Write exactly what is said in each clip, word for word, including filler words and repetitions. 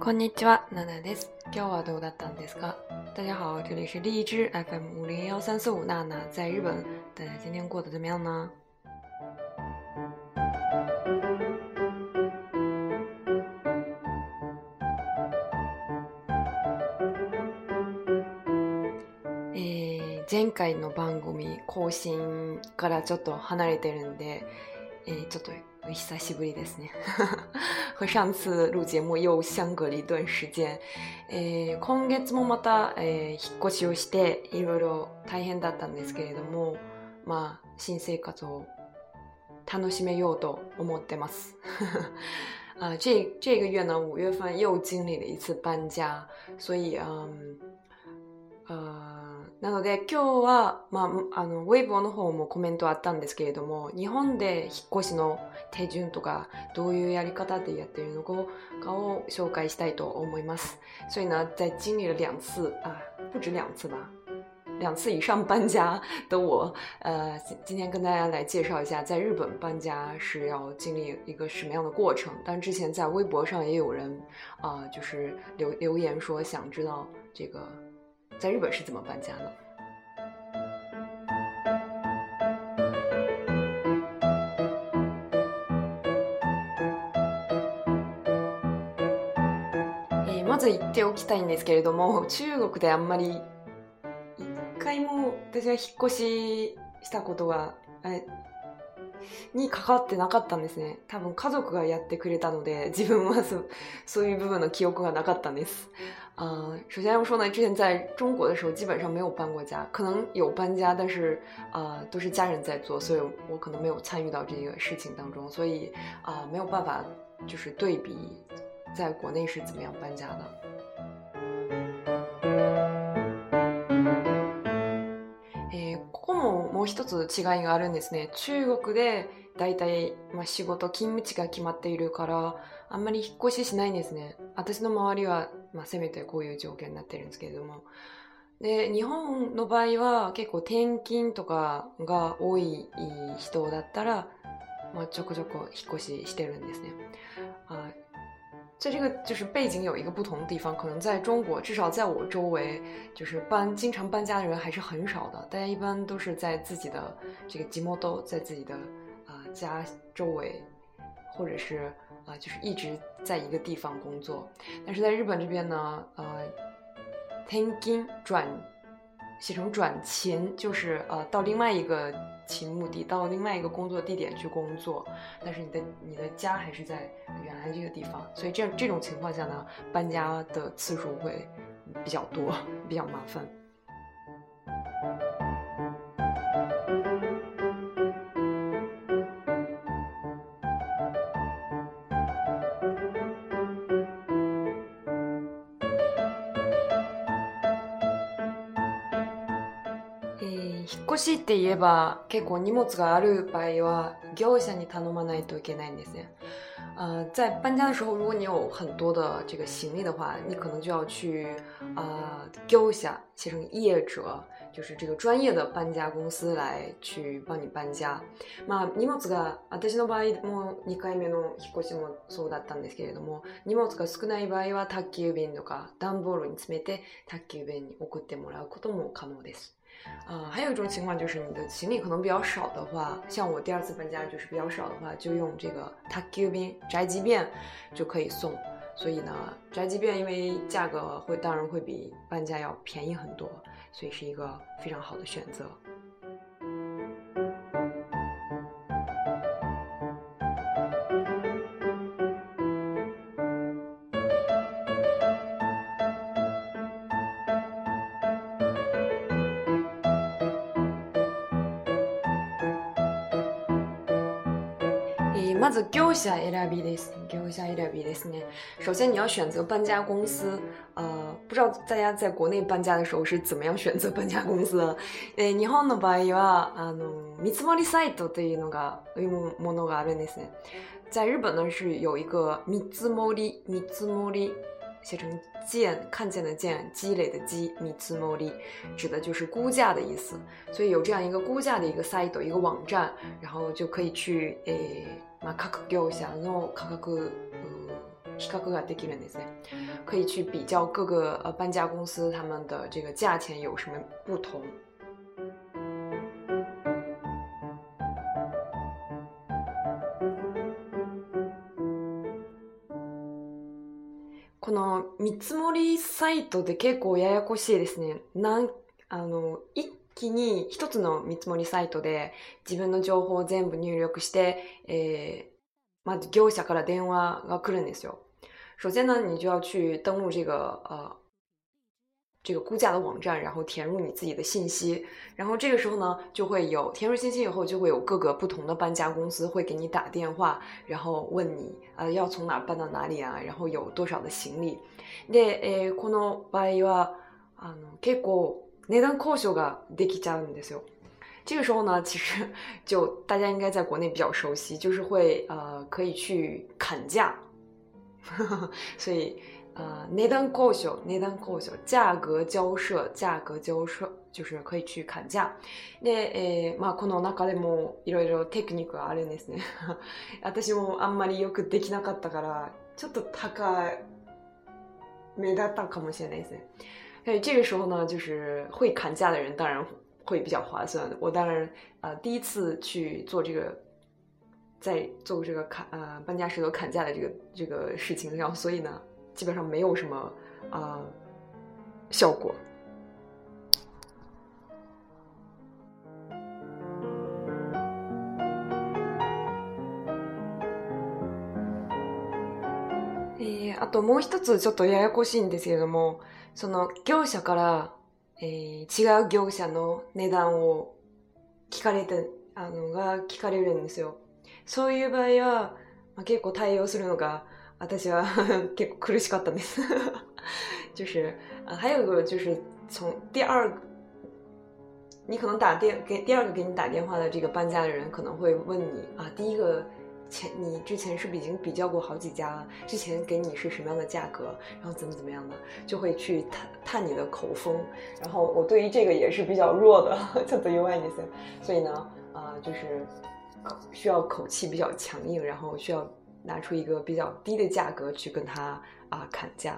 こんにちは、ナナです。今日はどうだったんですか？大家好，这里是荔枝 F M 五零幺三四五，娜娜在日本。大家今天过得怎么样呢？えー、前回の番組更新からちょっと離れてるんで、えー、ちょっと久しぶりですね。和上次录节目又相隔了一段時間。えー、今月もまた、えー、引っ越しをしていろいろ大変だったんですけれども、まあ新生活を楽しめようと思ってます。啊，这这个月呢，五月份又经历了一次搬家，所以嗯。あなので今日は、まあ、あのウェイボーの方もコメントあったんですけれども、日本で引っ越しの手順とかどういうやり方でやっているのかを紹介したいと思います。所以呢，在经历了两次啊，不止两次吧，两次以上搬家的我，呃，今天跟大家来介绍一下，在日本搬家是要经历一个什么样的过程。但之前在微博上也有人啊、呃，就是留留言说想知道这个。在日本是怎么搬家的？えー、まず言っておきたいんですけれども、中国であんまり一回も私は引っ越ししたことがに関わってなかったんですね。多分家族がやってくれたので、自分は そ, そういう部分の記憶がなかったんです。呃，首先要说呢，之前在中国的时候基本上没有搬过家，可能有搬家，但是啊、呃、都是家人在做，所以我可能没有参与到这个事情当中，所以啊、呃、没有办法就是对比在国内是怎么样搬家的。えー、ここももう一つ違いがあるんですね。中国でだいたい、まあ、仕事勤務地が決まっているからあんまり引っ越ししないんですね。私の周りは、まあ、せめてこういう条件になってるんですけれども、で日本の場合は結構転勤とかが多い人だったら、まあ、ちょこちょこ引っ越ししてるんですね。あ在这个就是背景有一个不同的地方，可能在中国，至少在我周围，就是搬经常搬家的人还是很少的。大家一般都是在自己的这个地元，在自己的啊、呃、家周围，或者是啊、呃、就是一直在一个地方工作。但是在日本这边呢，呃，転勤转写成转勤，就是呃到另外一个勤目的，到另外一个工作地点去工作，但是你的你的家还是在原来这个地方，所以这这种情况下呢，搬家的次数会比较多，比较麻烦。引っ越しって言えば結構荷物がある場合は業者に頼まないといけないんですね。呃，在搬家的时候，如果你有很多的这个行李的话，你可能就要去啊、呃、業者写成业者，就是这个专业的搬家公司来去帮你搬家。まあ荷物が私の場合もにかいめの引っ越しもそうだったんですけれども、荷物が少ない場合は宅急便とか段ボールに詰めて宅急便に送ってもらうことも可能です。呃，还有一种情况就是你的行李可能比较少的话，像我第二次搬家就是比较少的话，就用这个宅急便宅急便就可以送。所以呢，宅急便因为价格会当然会比搬家要便宜很多，所以是一个非常好的选择。まず業者選びです。業者選びですね。首先你要选择搬家公司。呃，不知道大家在国内搬家的时候是怎么样选择搬家公司的。え日本の場合はあの見積もりサイトというのがいうものがあるんですね。在日本呢是有一个見積もり見積もり。写成见，看见的见，积累的积，見積もり指的就是估价的意思。所以有这样一个估价的一个 site 一个网站，然后就可以去诶、まあ、各業者の価格比較ができるんですね，可以去比较各个呃搬家公司他们的这个价钱有什么不同。この見積もりサイトで結構ややこしいですね。なんあの一気に一つの見積もりサイトで自分の情報を全部入力して、えー、まず業者から電話が来るんですよ。首先呢，你就要去登录这个呃这个估价的网站，然后填入你自己的信息，然后这个时候呢，就会有填入信息以后，就会有各个不同的搬家公司会给你打电话，然后问你啊、呃、要从哪搬到哪里啊，然后有多少的行李。で、えー、この場合はあの結構値段交渉ができちゃうんですよ。这个时候呢，其实就大家应该在国内比较熟悉，就是会呃可以去砍价，所以。呃，値段交渉、値段交渉、价格交涉、价格交涉就是可以去砍价。で、えー、まあこの中でもいろいろテクニックがあるんですね。私もあんまりよくできなかったから、ちょっと高めだったかもしれないですね。所以这个时候呢，就是会砍价的人当然会比较划算。我当然呃第一次去做这个。在做这个砍呃搬家石头砍价的这个这个事情，然后所以呢。基本上没有什么啊、呃、效果。えー、あともう一つちょっとややこしいんですけれども、その業者から、えー、違う業者の値段を聞かれてあのが聞かれるんですよ。そういう場合は、まあ、結構対応するのが私は結構苦しかったんです就是呃还有一个就是从第二你可能打电给第二个给你打电话的这个搬家的人可能会问你啊，第一个前你之前是不是已经比较过好几家了？之前给你是什么样的价格？然后怎么怎么样的，就会去探探你的口风。然后我对于这个也是比较弱的，ちょっと弱いんですよ。所以呢，啊、呃，就是需要口气比较强硬，然后需要。拿出一个比较低的价格去跟他啊、呃、砍价。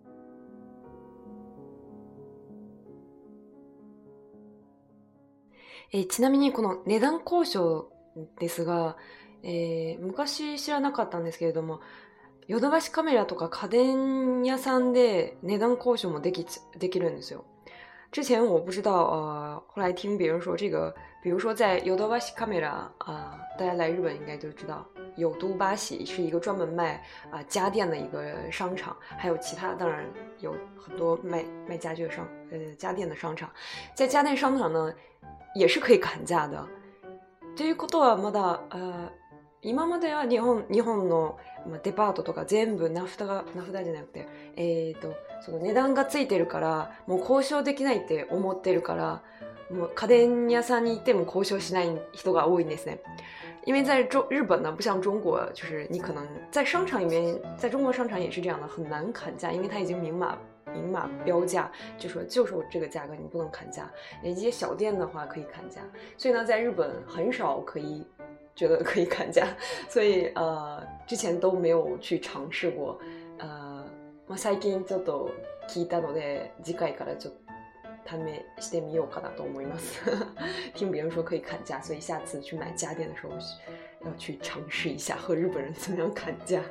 えちなみにこの値段交渉ですが、えー、昔知らなかったんですけれども、ヨドバシカメラとか家電屋さんで値段交渉もできできるんですよ。之前我不知道，呃，后来听别人说这个，比如说在ヨドバシカメラ啊，大家来日本应该就知道。有都巴喜是一个专门卖啊、呃、家电的一个商场，还有其他当然有很多卖卖家具的商呃家電的商場。在家電商場呢也是可以砍价的。ということはまだあ今までは日本日本のデパートとか全部名札が名札じゃなくてえっとその値段がついてるからもう交渉できないって思ってるからもう家電屋さんに行っても交渉しない人が多いんですね。因为在中日本呢，不像中国，就是你可能在商场里面，在中国商场也是这样的，很难砍价，因为它已经明码明码标价，就说就是我这个价格，你不能砍价。一些小店的话可以砍价，所以呢，在日本很少可以觉得可以砍价，所以呃，之前都没有去尝试过。呃，まあ最近ちょっと聞いたので、次回からちょっと。試してみようかなと思います听别人说可以砍价，所以下次去买家电的时候要去尝试一下和日本人怎么样砍价。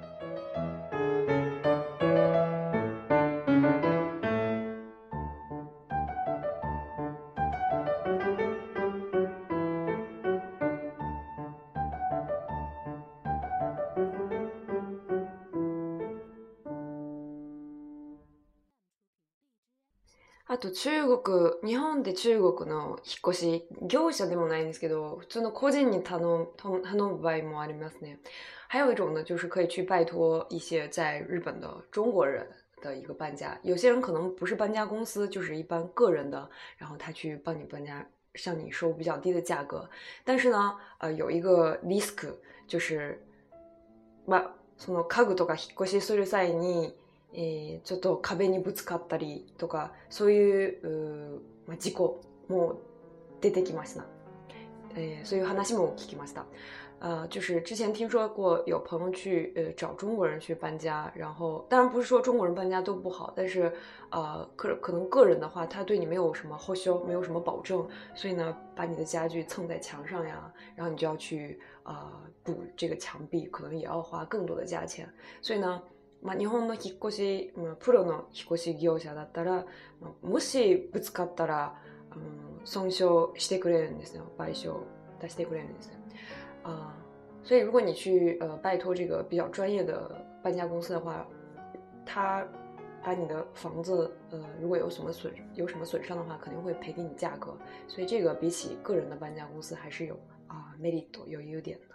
あと中国、日本で中国の引っ越し、業者でもないんですけど、普通の個人に頼む頼む場合もありますね。还有一种呢，就是可以去拜托一些在日本的中国人的一个搬家。有些人可能不是搬家公司，就是一般个人的，然后他去帮你搬家，向你收比较低的价格。但是呢，呃，有一个 risk，就是、まあ、その家具とか引っ越しする際に、えー、ちょっと壁にぶつかったりとかそういう、う、まあ、事故も出てきました、えー、そういう話も聞きました。 呃，就是之前听说过有朋友去呃找中国人去搬家，然后当然不是说中国人搬家都不好，但是呃可可能个人的话，他对你没有什么后修，没有什么保证，所以呢，把你的家具蹭在墙上呀，然后你就要去呃补这个墙壁，可能也要花更多的价钱。所以呢，まあ日本の引っ越し、まあプロの引っ越し業者だったら、もしぶつかったら、あの損傷してくれるんですよ、賠償出してくれるんですよ。啊、uh, 所以如果你去呃拜托这个比较专业的搬家公司的话，他把你的房子呃如果有什么损有什么损伤的话，肯定会赔给你价格。所以这个比起个人的搬家公司还是有啊、uh, メリット有优点的。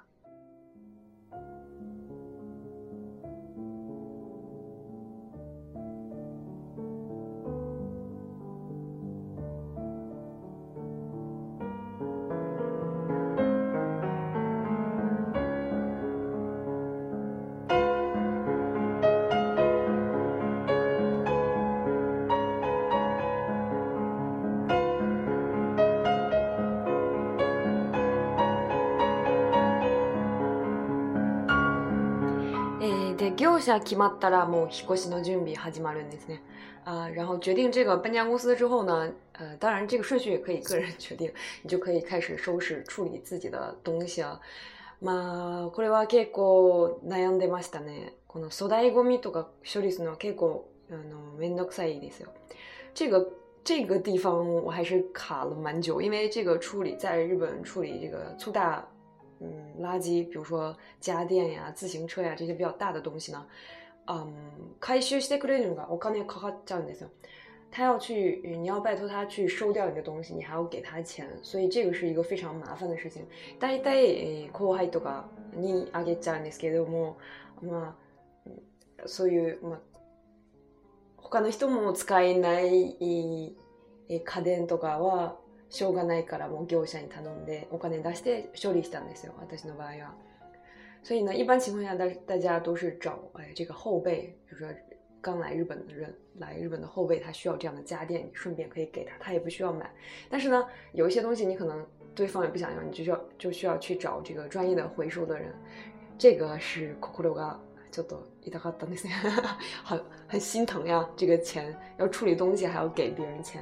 で業者決まったらもう引っ越しの準備始まるんですね。啊、呃，然后决定这个搬家公司之后呢，呃，当然这个顺序也可以个人决定，你就可以开始收拾处理自己的东西了。まあこれは結構悩んでましたね。この粗大ゴミとか処理するのは結構あのめんどくさいですよ。这个这个地方我还是卡了蛮久，因为这个处理在日本处理这个粗大。嗯，垃圾，比如说家电呀、自行车呀这些比较大的东西呢，嗯，回収してくれるのがお金かかっちゃうんですよ。他要去，你要拜托他去收掉你的东西，你还要给他钱，所以这个是一个非常麻烦的事情。大体後輩とかにあげちゃうんですけども、まあそういうまあ他の人も使えない家電とかは。しょうがないからもう業者に頼んでお金出して処理したんですよ，私の場合は。所以呢，一般情况下大大家都是找哎这个后辈，比如说刚来日本的人，来日本的后辈他需要这样的家电，你顺便可以给他，他也不需要买。但是呢，有一些东西你可能对方也不想要，你就需要就需要去找这个专业的回收的人。这个是心がちょっと痛かったんですね，很很心疼呀，这个钱要处理东西还要给别人钱。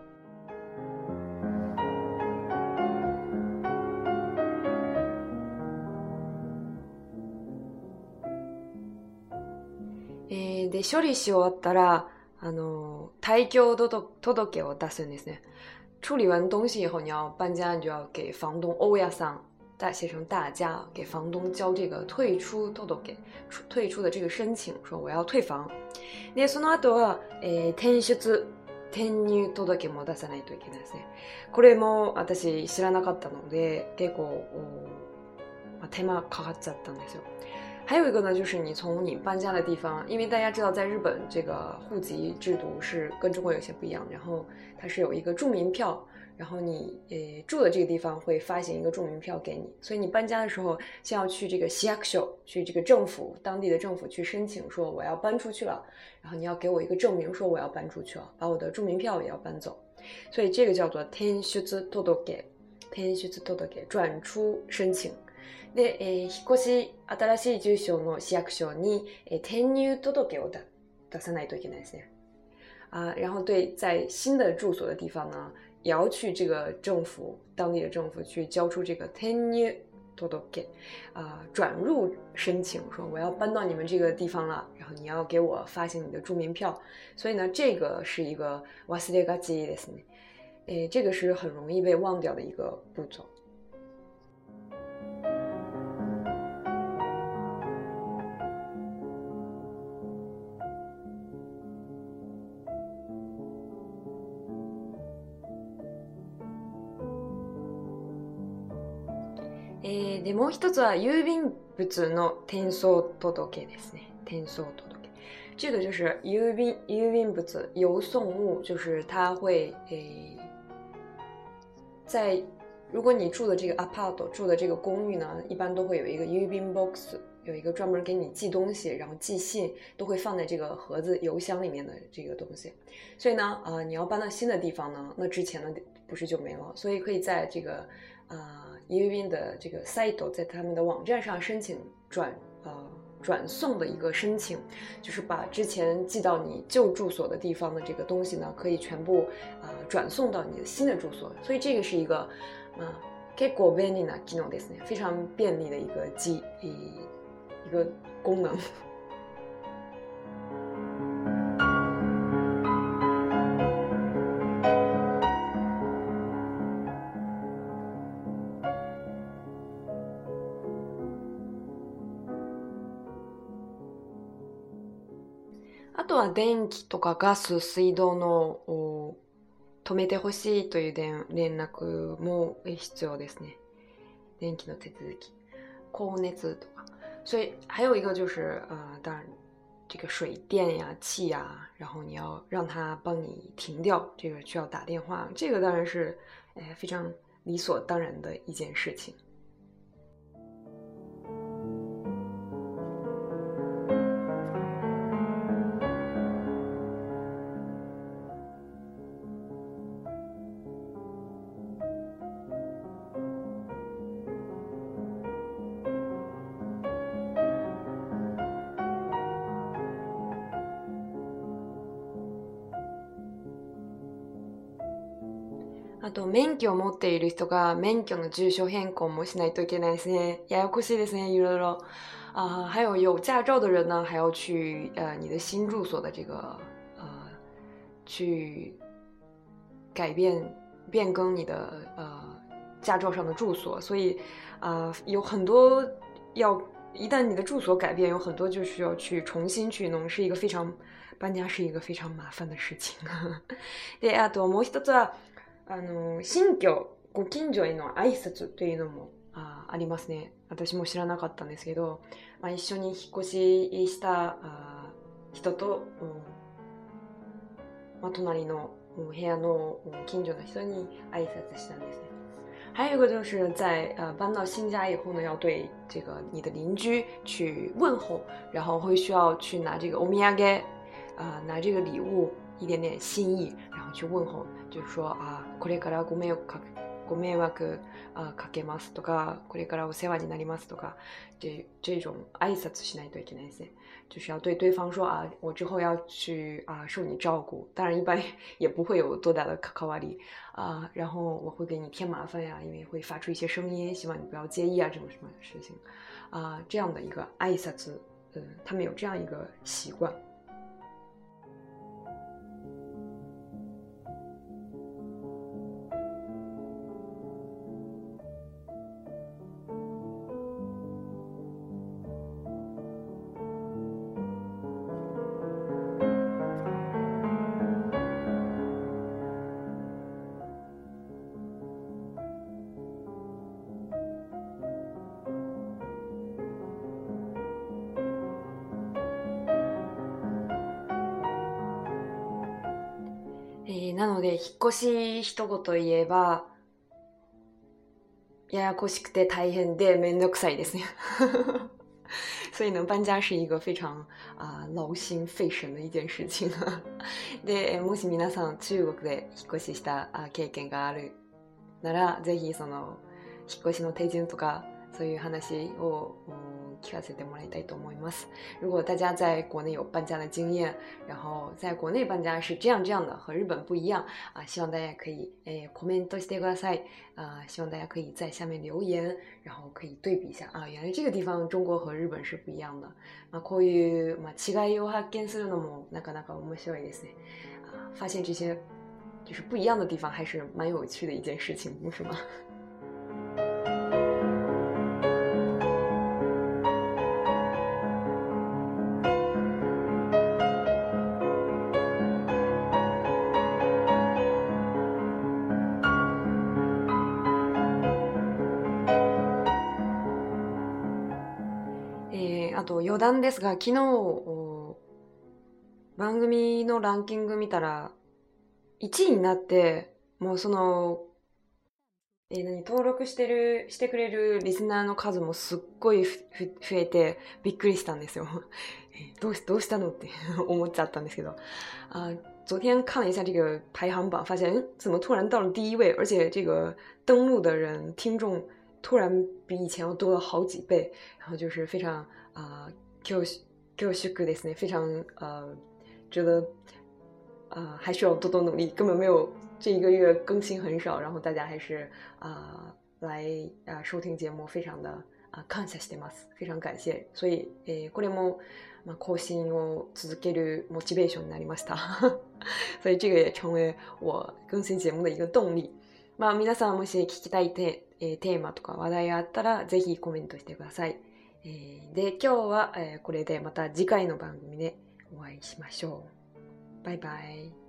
で処理し終わったらあの退去届を出すんですね。处理完东西以后，你要搬家，你就要给房东欧亚桑，大写成大家，给房东交这个退出届，退出的这个申请，说我要退房。でその後は、えー、転出転入届も出さないといけないですね。これも私知らなかったので結構手間かかっちゃったんですよ。还有一个呢，就是你从你搬家的地方，因为大家知道在日本这个户籍制度是跟中国有些不一样，然后它是有一个住民票，然后你呃住的这个地方会发行一个住民票给你，所以你搬家的时候先要去这个市役所，去这个政府当地的政府去申请说我要搬出去了，然后你要给我一个证明说我要搬出去了，把我的住民票也要搬走，所以这个叫做転出届，転出届转出申请。で、えー、引っ越し新しい住所の市役所に、えー、転入届を出さないといけないですね。啊，然后对，在新的住所的地方呢，也要去这个政府当地的政府去交出这个転入届啊，转入申请，说我要搬到你们这个地方了，然后你要给我发行你的住民票。所以呢，这个是一个忘れがちですね。诶，这个是很容易被忘掉的一个步骤。えー、でもう一つは郵便物の転送届ですね。転送届，这个就是邮便邮便物邮送物，就是它会诶，在如果你住的这个 apart 住的这个公寓呢，一般都会有一个郵便 box， 有一个专门给你寄东西，然后寄信都会放在这个盒子邮箱里面的这个东西。所以呢，呃，你要搬到新的地方呢，那之前呢不是就没了，所以可以在这个啊、呃、郵便的这个 site 在他们的网站上申请转呃转送的一个申请，就是把之前寄到你旧住所的地方的这个东西呢，可以全部啊、呃、转送到你的新的住所。所以这个是一个啊結構便利な機能ですね，非常便利的一个机一个功能。あとは電気とかガス、水道の止めてほしいという連絡も必要ですね。電気の手続き、光熱とか。所以还有一个就是呃，当然这个水电呀、气呀，然后你要让它帮你停掉，这个需要打电话，这个当然是哎非常理所当然的一件事情。あと、免許を持っている人が免許の住所変更もしないといけないですね。ややこしいですね，いろいろ。啊、还有有驾照的人呢，还要去呃你的新住所的这个呃去改变变更你的呃驾照上的住所，所以啊、呃、有很多要一旦你的住所改变，有很多就需要去重新去弄，是一个非常搬家是一个非常麻烦的事情。で、あともう一つは。あの新居ご近所への挨拶というのも あ, ありますね。私も知らなかったんですけど、まあ、一緒に引っ越ししたあ人と、まあ、隣の部屋の近所の人に挨拶したんですね。还有一个就是在呃搬到新家以后呢，要对这个你的邻居去问候，然后会需要去拿这个お土産啊、呃，拿这个礼物一点点心意，然后去问候。就是说啊，これからご迷惑かご迷惑啊かけますとか，これからお世話になりますとか，这这种挨拶しないといけないですね。就是要对对方说啊，我之后要去啊受你照顾，当然一般也不会有多大的関わり啊，然后我会给你添麻烦呀，因为会发出一些声音，希望你不要介意啊，这种什么事情啊，这样的一个挨拶，嗯，他们有这样一个习惯。えー、なので引っ越し一言言えばややこしくて大変でめんどくさいですね。所以呢，搬家是一个非常啊、呃、劳心费神的一件事情。で、もし皆さん中国で引っ越しした経験があるなら、ぜひその引っ越しの手順とかそういう話を聞かせてもらいたいと思います。如果大家在国内有搬家的经验，然后在国内搬家是这样这样的，和日本不一样啊，希望大家可以诶コメントしてください啊，希望大家可以在下面留言，然后可以对比一下啊，原来这个地方中国和日本是不一样的。まあこういうまあ違いを発見するのもなかなか面白いですね。啊，发现这些就是不一样的地方还是蛮有趣的一件事情，不是吗？あと余談ですが、昨日番組のランキング見たらいちいになって、もうそのえー、何登録してる、してくれるリスナーの数もすっごいふふ増えてびっくりしたんですよ。えーどうし、どうしたのって思っちゃったんですけど。啊、昨天看了一下这个排行榜，发现嗯，怎么突然到了第一位？而且这个登录的人、听众突然比以前要多了好几倍，然后就是非常啊、恐恐縮ですね，非常呃，觉得呃还需要多多努力，根本没有这一个月更新很少，然后大家还是啊、来啊、收听节目，非常的啊感謝してます，非常感謝。所以、えーこれもまあ、更新を続けるモチベーションになりました。所以这个也成为我更新节目的一个动力。まあ皆さんもし聞きたいテ,、えーテーマとか話題があったらぜひコメントしてください。えーで今日は、えーこれでまた次回の番組でお会いしましょう。バイバイ。